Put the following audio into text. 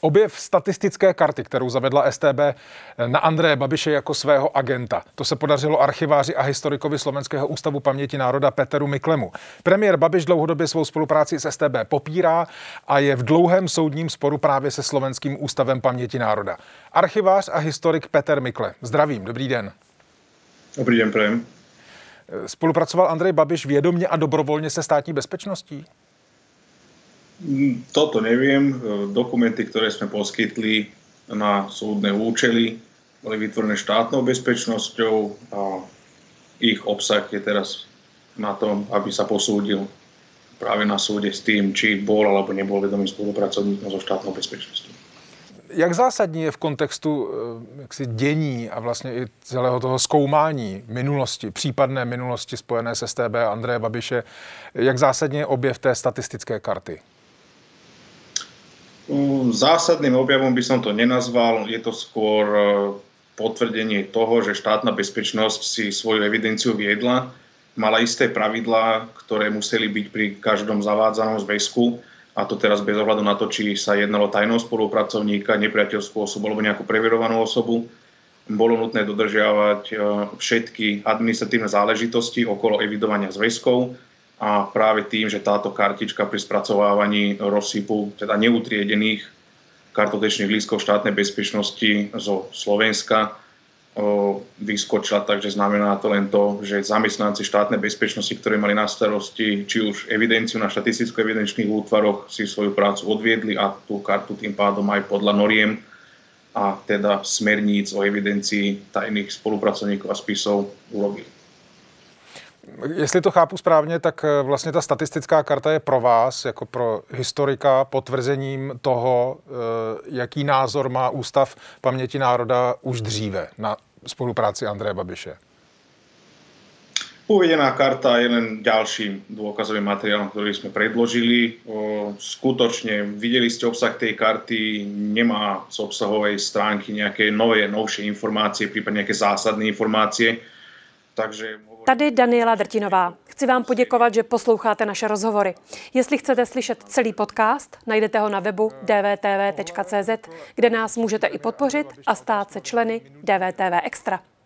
Objev statistické karty, kterou zavedla StB na Andreje Babiše jako svého agenta. To se podařilo archiváři a historikovi Slovenského ústavu paměti národa Peteru Miklemu. Premiér Babiš dlouhodobě svou spolupráci s StB popírá a je v dlouhém soudním sporu právě se Slovenským ústavem paměti národa. Archivář a historik Peter Mikle. Zdravím, dobrý den. Dobrý den, prajem. Spolupracoval Andrej Babiš vědomě a dobrovolně se státní bezpečností? Toto neviem. Dokumenty, ktoré sme poskytli na súdne účely, boli vytvorené štátnou bezpečnosťou a ich obsah je teraz na tom, aby sa posúdil práve na súde s tým, či bol alebo nebol vedomý spolupracovníkom so štátnou bezpečnosťou. Jak zásadní je v kontextu dění a vlastně i celého toho zkoumání minulosti, případné minulosti spojené s StB a Andreje Babiše, jak zásadní je objev té statistické karty? Zásadným objavom by som to nenazval. Je to skôr potvrdenie toho, že štátna bezpečnosť si svoju evidenciu viedla. Mala isté pravidlá, ktoré museli byť pri každom zavádzanom zväzku. A to teraz bez ohľadu na to, či sa jednalo tajného spolupracovníka, nepriateľskú osobu alebo nejakú preverovanú osobu. Bolo nutné dodržiavať všetky administratívne záležitosti okolo evidovania zväzkov. A práve tým, že táto kartička pri spracovávaní rozsypu, teda neutriedených kartotečných lístkov štátnej bezpečnosti zo Slovenska vyskočila, takže znamená to len to, že zamestnanci štátnej bezpečnosti, ktorí mali na starosti či už evidenciu na štatisticko-evidenčných útvaroch, si svoju prácu odviedli a tú kartu tým pádom aj podľa noriem a teda smerníc o evidencii tajných spolupracovníkov a spisov urobili. Jestli to chápu správně, tak vlastně ta statistická karta je pro vás, jako pro historika, potvrzením toho, jaký názor má Ústav paměti národa už dříve na spolupráci Andreje Babiše. Uvedená karta je len ďalším dôkazovým materiálom, ktorý sme predložili. Skutočne videli ste obsah tej karty, nemá z obsahovej stránky nejaké novšie informácie, prípadne nejaké zásadné informácie. Takže Tady Daniela Drtinová. Chci vám poděkovat, že posloucháte naše rozhovory. Jestli chcete slyšet celý podcast, najdete ho na webu dvtv.cz, kde nás můžete i podpořit a stát se členy DVTV Extra.